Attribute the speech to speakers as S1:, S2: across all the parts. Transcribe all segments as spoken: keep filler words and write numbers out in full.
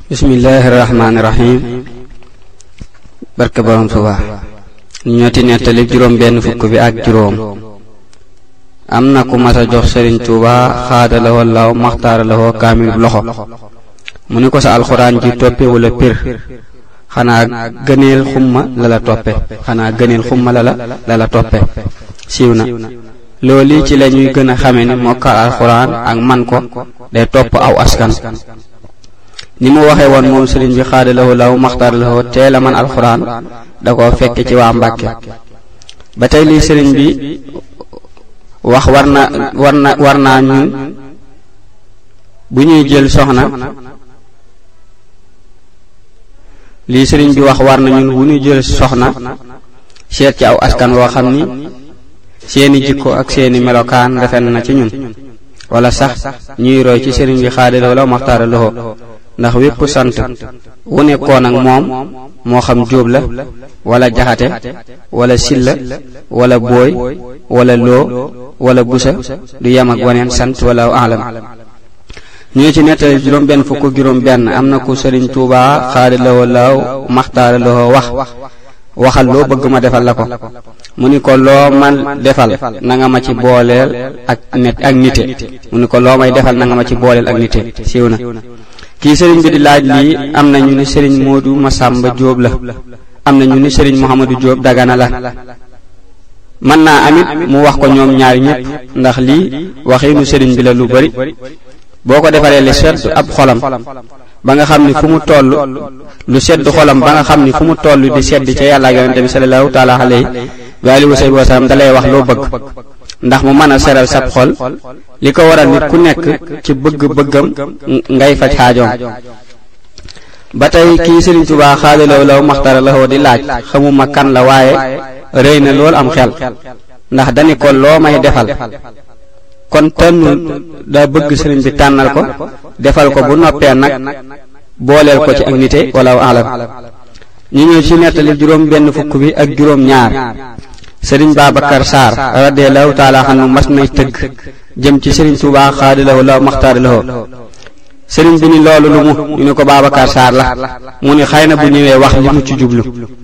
S1: bismillahir rahmanir rahim barke borom Tuubaa ñu ñoti nettali juróom benn fukk bi ak juróom amna ku massa jox Serigne Touba xaada la wallaaw maxtaara la ho kamil loxo mu ni ko sa alquran ji toppe wala pir xana gëneel xumma la la toppe xana gëneel xumma la la la toppe siwna loli ci lañuy gëna xamé ni mokkal alquran ak man ko day top aw askan ni mu waxe won mom serigne bi xaadalahu law maxtar lahu teela man alquran da ko fekk ci wa Mbàkke ba tay li serigne bi wax warna warna warna ñu bu ñuy jël soxna li serigne bi wax warna ñun bu ñuy jël soxna seet ci aw askan wo xamni seeni jikko ak seeni melokaan defen na ci ñun wala sax ñuy roy ci serigne bi xaadalahu law maxtar lahu ndax wépp sant wu nekkoon ak moom moo xam jóob la wala jaxate wala silla wala booy wala loo wala busa du yam ak waneen sant wala alam ñu ci nettali juróom benn fukk juróom benn am na ku Sëriñ Tuubaa xaadalawoo laaw maxtaaralawoo wax waxal loo bëgg ma defal la ko mu ni ko loo man defal na nga ma ci booleel ak net ak nite mu ni ko loo may defal na nga ma ci booleel ak nite siiw na ki serigne bi di laaj li amna ñu ni serigne Modou Massamba Diop la amna ñu ni serigne Mouhamadou Diop Dagana la man na amit mu wax ko ñoom ñaar ñepp ndax li waxinu serigne bi la lu bari boko defale le sedd ab xolam ba nga xamni fu mu tollu lu sedd xolam ba nga xamni fu mu tollu di sedd ci yalla ak yonent bi sallallahu ta'ala alayhi wa alihi wa sallam dalay wax lo bëgg ndax mu mëna séral sab xol liko waral nit ku nekk ci bëgg-bëggam ngay faj xaajoom batay ki Serigne Touba xaadalaw law maxtara la di laaj xamuma kan la waaye reyna lool am xel ndax dani ko loo may defal kon tan da bëgg Serigne bi tànnal ko defal ko bu noppé nak booleel ko ci ak nité wala alam ñi ñëw ci nettali juróom benn fukk bi ak juróom ñaar Serigne Babacar Sarr radiyallahu ta'ala anhu mas nay teug jëm ci Serigne Touba xaadalahu law maxtaar lahu Serigne bi ni loolu lu mu ñu ne ko Babacar Sarr la mu ni xayna bu ñëwé wax li mu ci jublu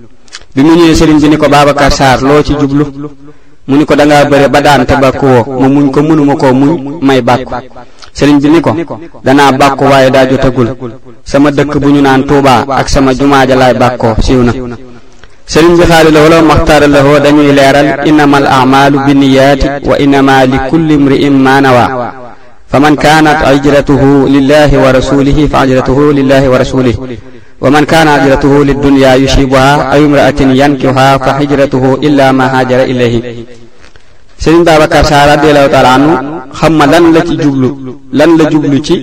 S1: bi mu ñëwé Serigne bi ni ko Babacar Sarr lo ci jublu mu ni ko da nga bëre ba daan te bakku wo mu muñ ko mënuma ko muñ may bakku Serigne bi ni ko dana bakku waye da jotagul sama dëkk bu ñu naan Touba ak sama jumaa ja lay bakko siiwna Serigne bi xaadalahu law maxtaar lahu dañuy leeral innamal a'malu binniyati wa innama likulli imri'in ma nawa faman kanat hijratuhu lillahi wa rasulihi fa hijratuhu lillahi wa rasulihi wa man kana hijratuhu lid-dunya yusibuha aw imra'atin yankihuha fa hijratuhu illa ma hajara ilayhi Serigne Babacar Sarr radiyallahu ta'ala anhu xamma lan la ci jublu lan la jublu ci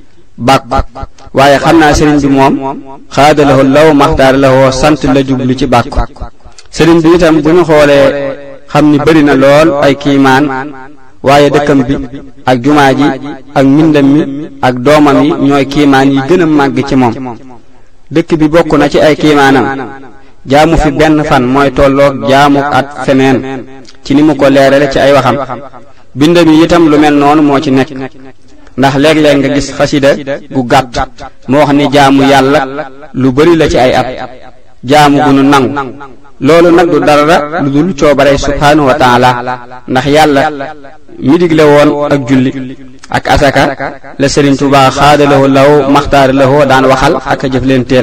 S1: bak waaye xam naa Serigne bi moom xaadalahu law maxtaar lahu sant la jublu ci bak Serigne bi itam bu ñu xoolee xam ni bari na lool ay kiimaan waaye dëkkam bi ak jumaa ji ak mbindam mi ak doomam yi ñooy kiimaan yi gën a màgg ci moom dëkk bi bokk na ci ay kiimaanam jaamu fi benn fan mooy tolloog jaamu at feneen ci ni mu ko leerale ci ay waxam bindam yi itam lu mel noonu moo ci nekk ndax léeg-léeg nga gis xasida gu gàtt moo wax ni jaamu yàlla lu bari la ci ay at jaamu gu nu nangu loolu nag du dara lu dul coobare subhanahu wa ta'ala ndax yàlla mi digle woon ak julli ak asaka la Serigne Touba xaadalahu law maxtaar lahu daan waxal ak jëf leen teel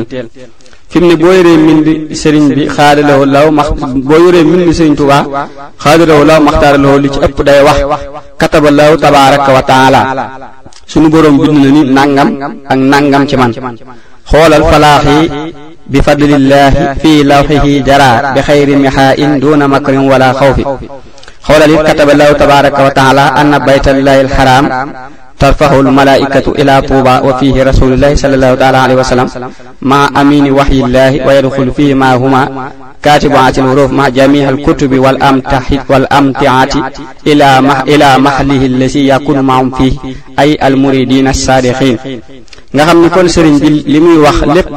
S1: fi mu ne boo yoree mbind Serigne bi xaadalahu law max boo yoree mbind Serigne Touba xaadalahu law maxtaar lahu li ci ëpp day wax kataballahu tabaraka wa ta'ala sunu borom bind na ni nangam ak nangam ci man xoolal falaax yi bi fadlillahi fi lawhihi jara bi khayri mihain duna makrin wala khawfi xoolal it kataballahu tabaraka wa ta'ala anna baytallahi alharam tarfahu almalaikatu ila tuba wa fihi rasulullahi sallallahu ta'ala alayhi wa sallam ma amini wahyillahi wa yadkhulu fihi ma huma كاتبات الحروف مع جميع الكتب والأمتحات والأمتعات إلى مح إلى محله الذي يكون معهم فيه أي المريدين الصادقين. nga xam ni kon Serigne bi li muy wax lépp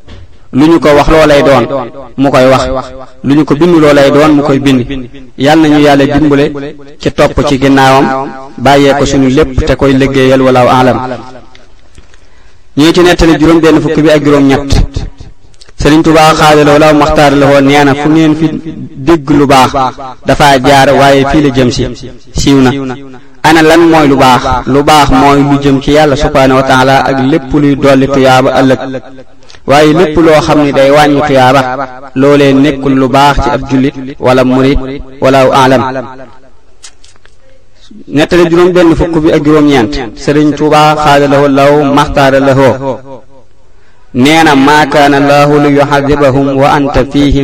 S1: lu ñu ko wax loolay doon mu koy wax lu ñu ko bind loolay doon mu koy bind yàlla nañu yàlla dimbale ci topp ci ginnaawam bàyyee ko suñu lépp te koy liggéeyal wala alam ñi ci nettali juróom benn fukk bi ak juróom ñett Sëriñ Tuubaa xaadaloo law maxtaar la woon nee na fu ngeen fi dégg lu baax dafa jaar waaye fii la jëm si siiw na. ana lan mooy lu baax lu baax mooy lu jëm ci yàlla subhaanahu wa taala ak lépp luy dolli tuyaaba ëllëg waaye lépp loo xam ni day wàññi tuyaaba loolee nekkul lu baax ci ab jullit wala murit wala alam. nettali juróom benn fukk bi ak juróom ñeent Sëriñ Tuubaa xaadaloo law maxtaar la woo nee na maa kaana Allahu li yu'adhibahum wa anta fihim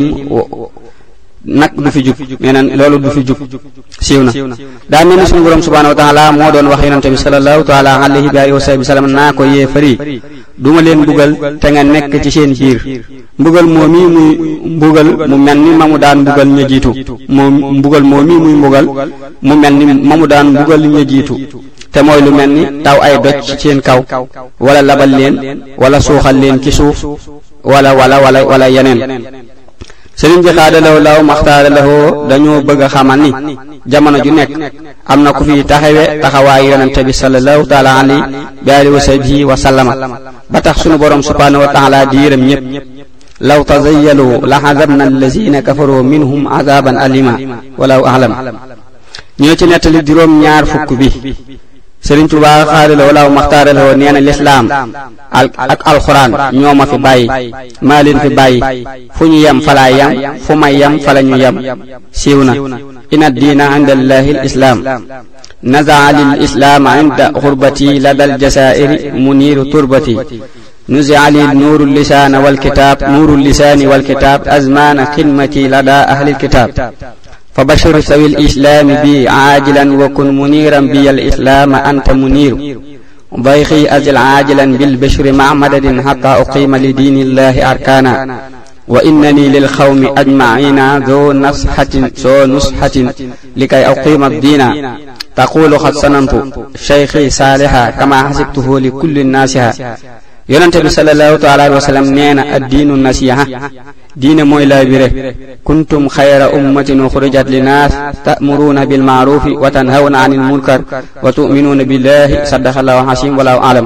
S1: nag du fi jub nee na loolu du fi jub siiw na. daa mel ni suñu borom subhaanahu wa taala moo doon wax yonente bi sallallahu taala alayhi wa alihi wa sallam naa ko yéefari duma leen mbugal te nga nekk ci seen biir mbugal moo mii muy mbugal mu mel ni ma mu daan mbugal ña jiitu moo mbugal moo mii muy mbugal mu mel ni ma mu daan mbugal ña jiitu te mooy lu mel ni taw ay doj ci seen kaw wala labal leen wala suuxal leen ci suuf wala wala wala wala yeneen. sëriñ bi xaadalaw law maxtaaralawoo dañoo bëgg a xamal ni jamono ju nekk am na ku fi taxawe taxawaayu yonente bi sallallahu taala alayhi bi alihi wa sahbihi wa sallama ba tax sunu borom subhaanahu wa taala di yërëm ñépp law tazayyalu la azabna allazina kafaru minhum azaban alima walaw a'lam. ñoo ci nettali juróom ñaar fukk bi Sëriñ Tuubaa xaadaloo law maxtaaralawoo nee na lislaam ak alxuraan ñoo ma fi bàyyi maa leen fi bàyyi fu ñu yem falaa yem fu may yem fala ñu yem siiw na. inna diina inda allahi al islaam nazaa lil islaam inda xurbati ladal jasaa'iri muniiru turbati nuzia li nuuru lisaana wal kitaab nuuru lisaani wal kitaab azmaana xidmati lada ahli kitaab فبشر سوي الإسلام بي عاجلا وكن منيرا بي الإسلام أنت منير ضيخي أزل عاجلا بالبشر مع مدد حتى أقيم لدين الله أركانا وإنني للقوم أجمعين ذو نصحة ذو نصحة لكي أقيم الدين تقول قد سننت شيخي صالحا كما حسبته لكل الناس yonente bi sallallahu taala alayhi wa sallam nee na addiinu nasiha diine mooy laabire kuntum xayra ummatin uxrijat linnaas ta'muruuna bil ma'ruufi wa tanhawna anil munkar wa tu'minuuna billahi sadaqallahu al-aziim wallahu a'lam.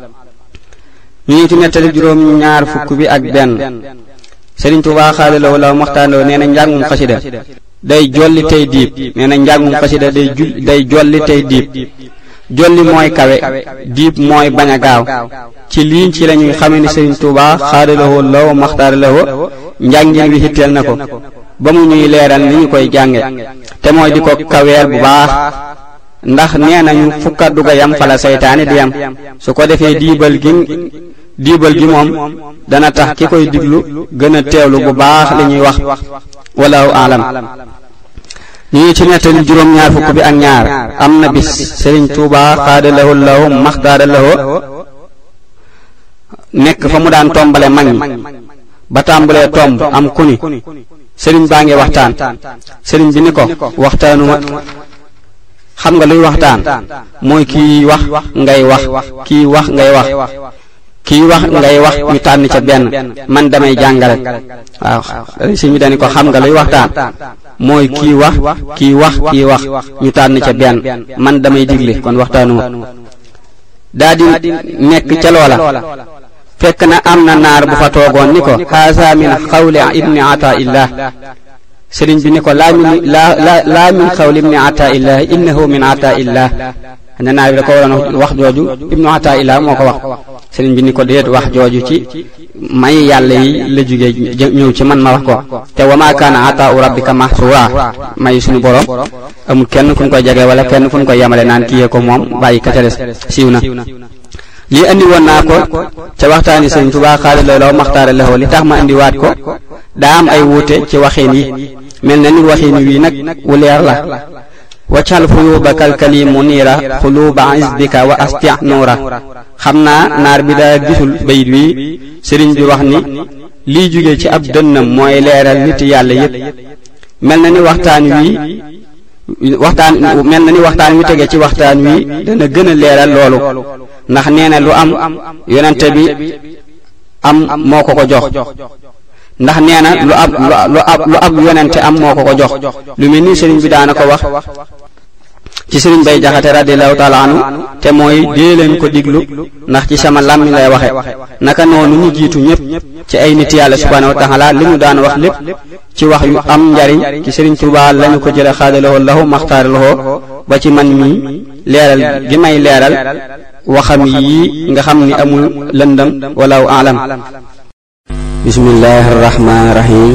S1: ñu ngi ci nettali juróom ñaar fukk bi ak benn Sëriñ Tuubaa xaadaloo law maxtaanoo nee na njàngum xasida day jolli tey diib nee na njàngum xasida day jul day jolli tey diib jolli mooy kawe diib mooy bañ a gaaw. ci lii ci lañuy xamee ni Sëriñ Tuubaa xaadalawoo law maxtaaralawoo njàngin wi hitteel na ko ba mu ñuy leeral ni ñu koy jànge te mooy di ko kaweel bu baax ndax nee nañu fu kaddu ga yam fala seytaane di yam su ko defee diibal gi diibal gi moom dana tax ki koy diglu gën a teewlu bu baax li ñuy wax wallahu aalam. ñu ngi ci nettali juróom ñaar fukk bi ak ñaar am na bis Sëriñ Tuubaa xaadalawoo law maxtaaralawoo nekk fa mu daan tombale mag ñi ba tàmbalee tomb am ku ni sëriñ baa ngi waxtaan sëriñ bi ni ko waxtaanuma xam nga luy waxtaan mooy kii wax ngay wax kii wax ngay wax kii wax ngay wax ñu tànn ca benn man damay jàngale waaw sëriñ bi dañu ko xam nga luy waxtaan mooy kii wax kii wax kii wax ñu tànn ca benn man damay digle kon waxtaanuma daa di nekk ca loola fekk na am na naar bu fa toogoon ni ko haasa min xawli ibni ataillah sëriñ bi ni ko laa min laa laa min xawli ibni ataillah innahu min ataillah ne naar bi da ko waroon wax jooju ibnu ataillah moo ko wax sëriñ bi ni ko déet wax jooju ci may yàlla yi la jóge ñëw ci man ma wax ko te wa ma kaana ataau rabbika mahsura may suñu borom amul kenn fu ñu koy jege wala kenn fu ñu koy yemale naan kiyee ko moom bàyyi ka ca des siiw na. lii andi woon naa ko ca waxtaani Sëriñ Tuubaa xaadalawoo law maxtaaralawoo li tax ma andiwaat ko daa am ay wuute ci waxin yi mel na ni waxin wi nag wu leer la waccal fuyuuba kalkali muniira xuluuba isbika wa astia nuura xam naa naar bi daa gisul bayit wi sëriñ bi wax ni lii jóge ci ab dënnam mooy leeral nit yàlla yépp mel na ni waxtaan wi waxtaan mel na ni waxtaan wi tege ci waxtaan wi dana gën a leeral loolu ndax nee na lu am yonente bi am moo ko ko jox ndax nee na lu ab lu ab lu ab yonente am moo ko ko jox lu mel ni sëriñ bi daana ko wax ci sëriñ Bay Jaxate radiyallahu taala anhu te mooy dee leen ko diglu ndax ci sama làmmi lay waxe naka noonu ñu jiitu ñépp ci ay nit yàlla subhanahu wa taala li ñu daan wax lépp ci wax yu am njariñ ci sëriñ Tuubaa lañu ko jële xaadalawoo lahu maxtaaralawoo ba ci man mi leeral gi may leeral waxam yi nga xam ni amul lëndam walaw alam. bismillahi rahmaani rahim.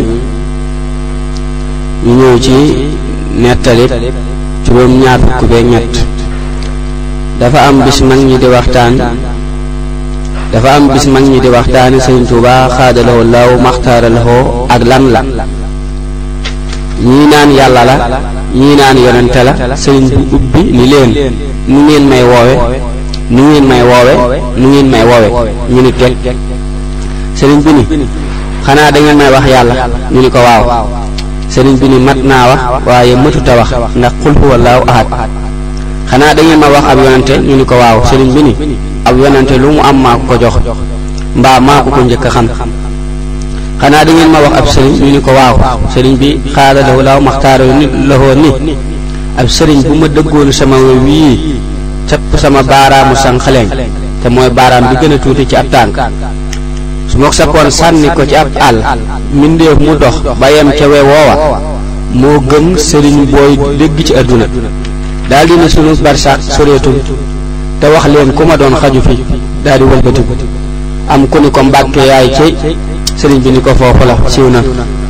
S1: ñu ñëw ci nettali juróom ñaar fukk beek ñett. dafa am bis mag ñi di waxtaan dafa am bis mag ñi di waxtaani sëriñ Tuubaa xaadalawoo lahu maxtaaralawoo ak lan la. ñii naan yàlla la ñii naan yonente la sëriñ bu ubbi ni leen nu ngeen may woowe nu ngeen may woowe nu ngeen may woowe ñu ni teg sëriñ bi ni xanaa da ngeen may wax yàlla ñu ni ko waaw sëriñ bi ni mat naa wax waaye mëtuta wax ndax qul huwallaahu ahad xanaa da ngeen ma wax ab yonente ñu ni ko waaw sëriñ bi ni ab yonente lu mu am maa ko ko jox mbaa maa ko ko njëkk a xam xanaa da ngeen ma wax ab sëriñ ñu ni ko waaw sëriñ bi xaala lahu laaw maxtaara ni lahoo ni ab sëriñ bu ma dëggoonu sama wii capp sama baaraamu sànqaleñ te mooy baaraam bi gën a tuuti ci ab tànk su ma ko sappoon sànni ko ci ab àll mbindeef mu dox ba yem ca we woowa moo gën sëriñ booy dégg ci àdduna daal di ne sunu barsax soreetul te wax leen ku ma doon xaju fi daal di wëlbatiku am ku ni ko mbàkke yaay cey sëriñ bi ni ko foofu la siiw na.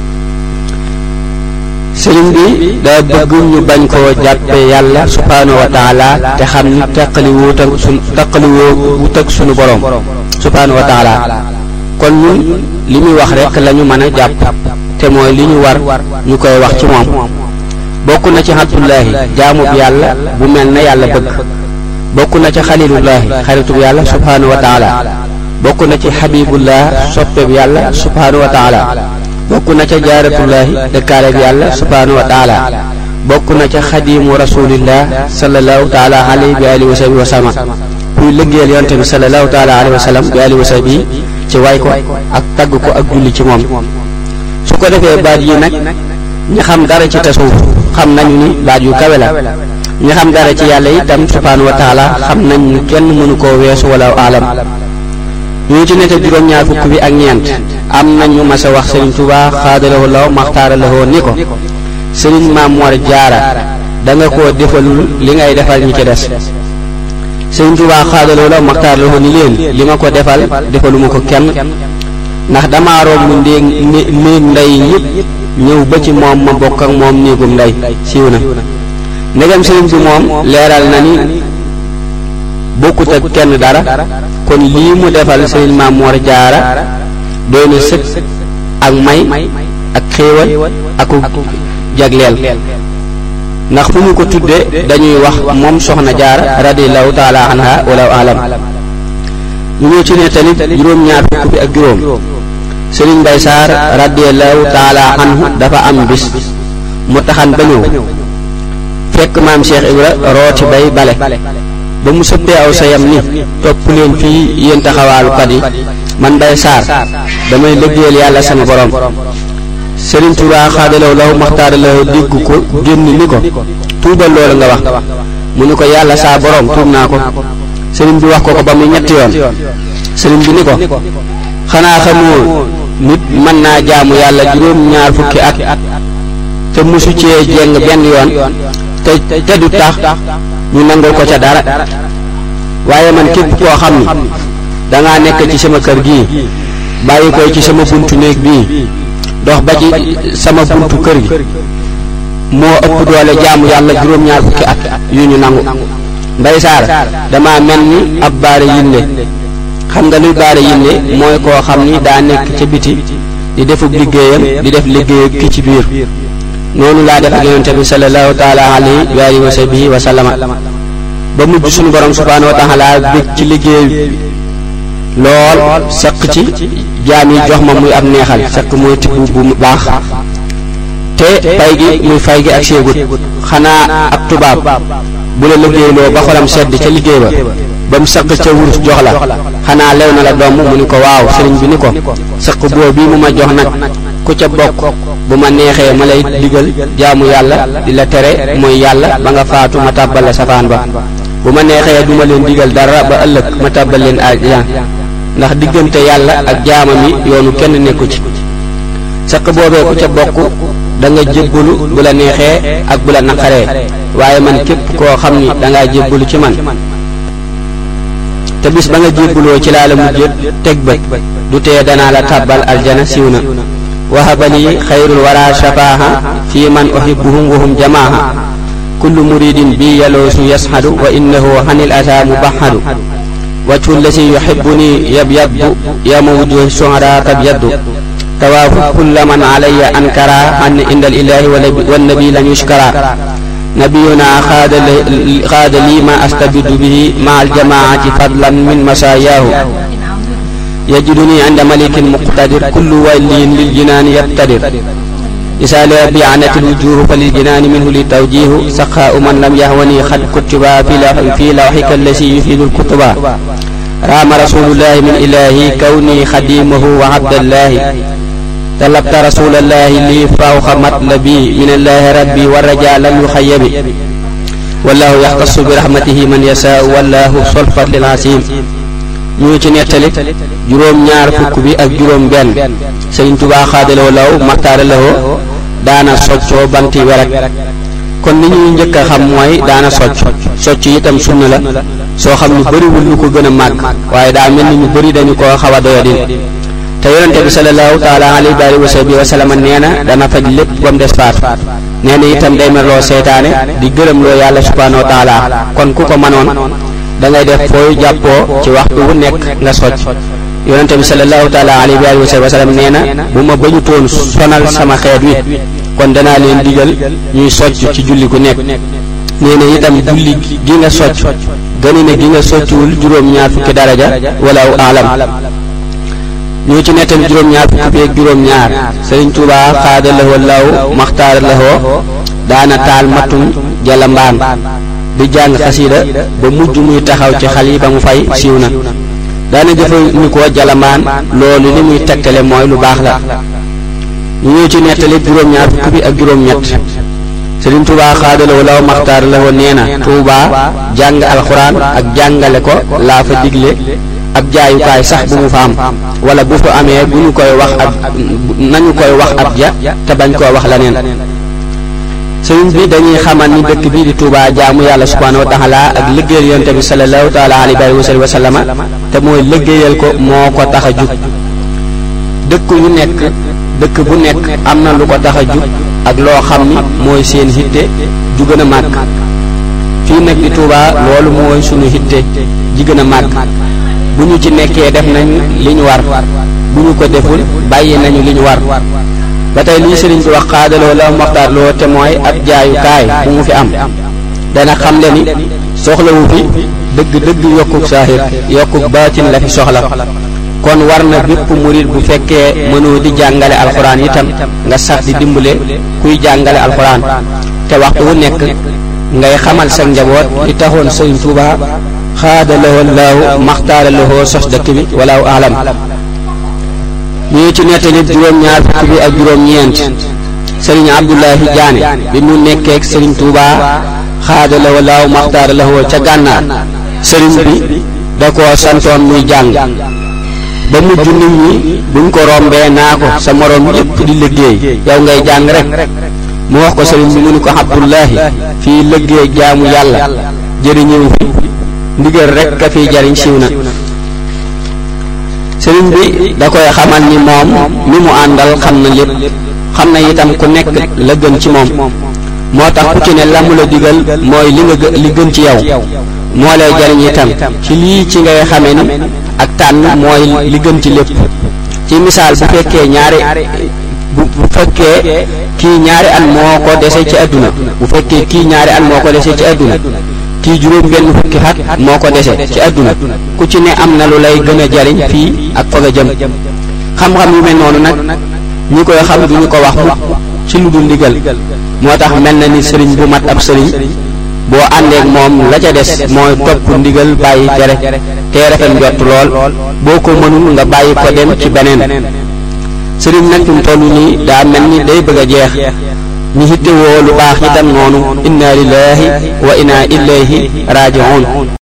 S1: sëriñ bi daa bëgg ñu bañ koo jàppe yàlla subhaanahu wa taala te xam ni taqali wuut ak sun taqali wuut ak sunu borom subhaanahu wa taala kon ñun li muy wax rek la ñu mën a jàpp te mooy li ñu war ñu koy wax ci moom. bokk na ci abdullahi jaamub yàlla bu mel na yàlla bëgg bokk na ci xalilullahi xaritub yàlla subhaanahu wa taala bokk na ci xabibullah soppeeb yàlla subhaanahu wa taala bokk na ca jaaratullahi dëkkaaleeg yàlla subhaanahu wa taala bokk na ca xadimu rasulillah sallallahu taala alayhi bi alihi wa sahbi wa sallam kuy liggéeyal yonte bi sallallahu taala alayhi wa sallam bi alihi wa sahbi ci way ko ak tagg ko ak julli ci moom. su ko defee baat yi nag ñi xam dara ci tasawuf xam nañu ni baat yu kawe la ñi xam dara ci yàlla itam subhaanahu wa taala xam nañ ni kenn mënu koo weesu wala alam. ñu ci nete juróom-ñaar fukk bi ak ñeent am nañu mas a wax sëriñ Tuubaa xaadalawoo law maxtaaralawoo ni ko sëriñ Maam Mor Jaara da nga koo defalul li ngay defal ñi ci des. sëriñ Tuubaa xaadalawoo law maxtaaralawoo ni leen li ma ko defal defaluma ko kenn ndax damaa romb ndéeg néeg ndey ñëpp ñëw ba ci moom ma bokk ak moom néegum ndey siiw na. ndegam sëriñ bi moom leeral na ni bokkut ak kenn dara kon lii mu defal sëriñ Maam Mor Jaara doy na sëkk ak may ak xéewal aku jagleel ndax fu ñu ko tudde dañuy wax moom soxna Jaara radiyallahu taala anha wala alam. ñu ñëw ci nettali juróom-ñaar fukk bi ak juróom. sëriñ Mbay Saar radiyallahu taala anhu dafa am bis mu taxan ba ñëw fekk maam Cheikh Ibra rooti bay bale ba mu sëppee aw sayam ni topp leen fii yéen taxawaalukat yi man Mbay Saar damay liggéeyal yàlla sama borom. sëriñ Tuubaa xaadalaw law maxtaaralaw dégg ko génn ni ko tuubal loolu nga wax mu ni ko yàlla saa borom tuub naa ko. sëriñ bi wax ko ko ba muy ñetti yoon sëriñ bi ni ko xanaa xamoo nit mën naa jaamu yàlla juróom ñaar fukki at te musu cee jeng benn yoon te te du tax ñu nangul ko ca dara waaye man képp koo xam ni dangaa nekk ci sama kër gii bàyyi koy ci sama buntu néeg bii dox ba ci sama buntu kër gi moo ëpp doole jaamu yàlla juróom ñaar fukki at yu ñu nangu. Mbay Saar dama mel ni ab baare yinde xam nga luy baare yinde mooy koo xam ni daa nekk ca biti di defub liggéeyam di def liggéeyu ki ci biir noonu laa def ak yonente bi sallallahu taala alayhi wa sahbihi wa sallama ba mujj suñu borom subhaanahu wa taala bég ci liggéey lool sëq ci jaam yi jox ma muy ab neexal sëq mooy tibb bu baax te pay gi muy fay gi ak seegut xanaa ab tubaab bu la liggéeyloo ba xolam sedd ca liggéey ba ba mu sëq ca wurus jox la xanaa lew na la doom mu ni ko waaw sëriñ bi ni ko sëq boo bii mu ma jox nag ku ca bokk bu ma neexee ma lay digal jaamu yàlla di la tere mooy yàlla ba nga faatu ma tàbbal la safaan ba bu ma neexee duma leen digal dara ba ëllëg ma tàbbal leen àjjana ndax diggante yàlla ak jaamam yi yoonu kenn nekku ci saq boobee ku ca bokk da nga jébbalu bu la neexee ak bu la naqaree waaye man képp koo xam ni da ngaa jébbalu ci man te bis ba nga jébbaloo ci laa la mujjé teg bët du tee danaa la tàbbal aljana siiw na wahabali xayrul wara shafaaha fi man uhibbuhum wahum jamaaha kullu muridin bi yaloosu yashadu wa innahu hanil ata mubahadu wajhu lasi yuhibbuni yabyaddu yawma wujuhi shuhada tabyaddu tawaafu kulla man alayya ankara an inda al-ilahi wan nabi lam yushkara nabiyuna xaada lii ma astabidu bihi ma al-jamaati fadlan min masaayahu yajiduni inda malikin muqtadir kullu waliyin lil jinaani yabtadir isaale bi'anati al-wujuh fa lil jinaani minhu li tawjihu saqaa man lam yahwani xad kutiba fi lawhika allasi yufidu al-kutuba raama rasulullahi min ilahi kawni xadimahu wa abdallahi talabta rasulallahi li fawqa matlabi min allahi rabbi wa raja lam yuxayyabi wallahu yaxtassu bi rahmatihi man yasaau wallahu solfat lil asim ñu ci nettali juróom ñaar fukk bi ak juróom benn Sëriñ Tuubaa xaadaloo law maxtaara lawoo daana soccoo banti werek kon li ñuy njëkk a xam mooy daana socc socc itam sunna la soo xam ni bëriwul lu ko gën a màgg waaye daa mel ni ñu bëri dañu koo xaw a doyadin te yonente bi sallallahu taala alayhi wa sahbihi wa sallam nee na dana faj lépp ba mu des faatu nee na itam day merloo seytaane di gërëm loo yàlla subhanahu wa taala kon ku ko mënoon da ngay def fooy jàppoo ci waxtu wu nekk nga socc yonente bi sallallahu taala alayhi wa sahbihi wa sallam nee na bu ma bañutoon sonal sama xeet wi kon danaa leen digal ñuy socc ci julli ku nekk nee na itam julli gi nga socc gëni ne gi nga soccuwul juróom-ñaar fukki daraja wala alam ñu ci nettali juróom-ñaar fukki ak juróom-ñaar Sëriñ Tuubaa xaada lahoo law maxtaar lahoo daana taal matum jalambaan di jàng xasida ba mujj muy taxaw ci xal yi ba mu fay siiw na daana jëfandikoo jalambaan loolu li muy tegtale mooy lu baax la ñu ci nettali juróom-ñaar fukki bi ak juróom-ñett Sëriñ Tuubaa xaada lahoo law maxtaar lahoo nee na Tuubaa jàng alxuraan ak jàngale ko laa fa digle ab jaayukaay sax bu mu fa am wala bu fa amee bu ñu koy wax ab nañu koy wax ab ja te bañ koo wax leneen sëriñ bi dañuy xamal ni dëkk bi di Touba jaamu yàlla subhanahu wa taala ak liggéeyal yonent bi sallallahu taala alayhi wa sallam te mooy liggéeyal ko moo ko tax a jug dëkk yu nekk dëkk bu nekk am na lu ko tax a jug ak loo xam ni mooy seen hitte ju gën a màgg fii nag di Touba loolu mooy sunu hitte ji gën a màgg bu ñu ci nekkee def nañu li ñu war bu ñu ko deful bàyyi nañu li ñu war ba tey lii sëriñ bi wax xaadaloo la maxtaar loo te mooy ab jaayukaay bu mu fi am dana xam le ni soxlawu fi dëgg dëgg yokkuk saahir yokkuk baatin la fi soxla kon war na bépp murid bu fekkee mënoo di jàngale alxuraan itam nga sax di dimbale kuy jàngale alxuraan te waxtu wu nekk ngay xamal sa njaboot li taxoon sëriñ Tuubaa xaada lahoo laahu maxtaara lahoo sos dëkk bi walaahu alam ñu ci nettali juróom-ñaar fukk bi ak juróom-ñeent sëriñ Abdullahi Jaane bi mu nekkee ak sëriñ Tuubaa xaada lahoo laahu maxtaara lahoo ca gànnaar sëriñ bi da koo santoon muy jàng ba mujj nit ñi buñ ko rombee naa ko sa moroom yépp di liggéey yow ngay jàng rek mu wax ko sëriñ bi mu ni ko Abdullahi fii liggéey jaamu yàlla jëriñëw fi ndigal rek ka fiy jariñ siiw na sëriñ bi da koy xamal ni moom mi mu àndal xam na lépp xam na itam ku nekk la gën ci moom moo tax ku ci ne la mu la digal mooy li nga li gën ci yow moo lay jariñ itam ci lii ci ngay xamee ni ak tànn mooy li gën ci lépp ci misaal bu fekkee ñaari bu bu fekkee kii ñaari at moo ko dese ci àdduna bu fekkee kii ñaari at moo ko dese ci àdduna kii juróom benn fukki xat moo ko dese ci àdduna ku ci ne am na lu lay gën a jariñ fii ak fa nga jëm xam-xam yu mel noonu nag ñi koy xam duñu ko wax mukk ci lu dul ndigal moo tax mel na ni sëriñ bu mat ab sëriñ boo àndeek moom la ca des mooy topp ndigal bàyyi tere te rafet njott lool boo ko mënul nga bàyyi ko dem ci beneen sëriñ nag fi mu toll nii daa mel ni day bëgg a jeex ñi hittewoo lu baax itam noonu inna lillahi wa inna ilayhi raji'un